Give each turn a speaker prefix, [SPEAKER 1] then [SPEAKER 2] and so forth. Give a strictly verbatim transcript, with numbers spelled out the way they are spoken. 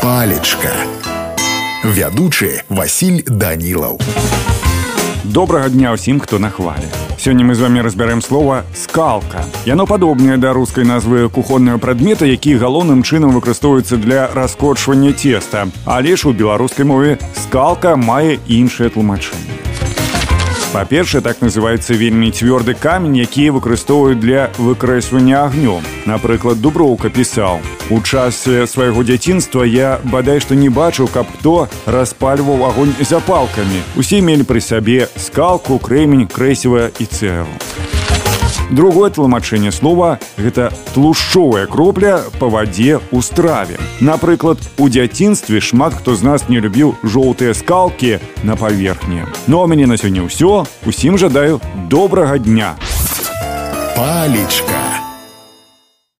[SPEAKER 1] Палечка. Вядучы Васіль Данілаў.
[SPEAKER 2] Добрага дня ўсім, хто на хвале. Сёння мы з вами разбярэм слова «скалка». Яно падобнае да рускай назвы кухоннага прадмета, які галоўным чынам выкарыстоўваецца для раскочвання цеста. Але ж у беларускай мове скалка мае іншае тлумачэнне. Па-першае, так называецца вельмі цвёрды камень, які выкарыстоўваюць для выкрэсвання агнём. Напрыклад, Дуброўка пісаў: «У часе свайго дзяцінства я бадай што не бачыў, каб хто распальваў агонь запалкамі. Усе мелі пры сабе скалку, крэмень, крэсіва і цэглу». Другое тлумачэнне слова – гэта тлушчовая кропля па вадзе ў страве. Напрыклад, у дзяцінстве шмат хто з нас не любіў жоўтыя скалкі на паверхні. Ну а ў мяне на сёння ўсё. Усім жадаю добрага дня.
[SPEAKER 1] Палечка.